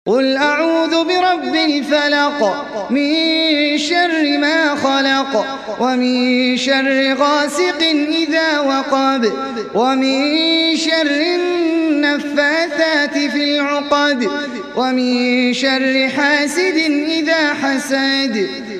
قل أعوذ برب الفلق من شر ما خلق ومن شر غاسق إذا وقب ومن شر النفاثات في العقد ومن شر حاسد إذا حسد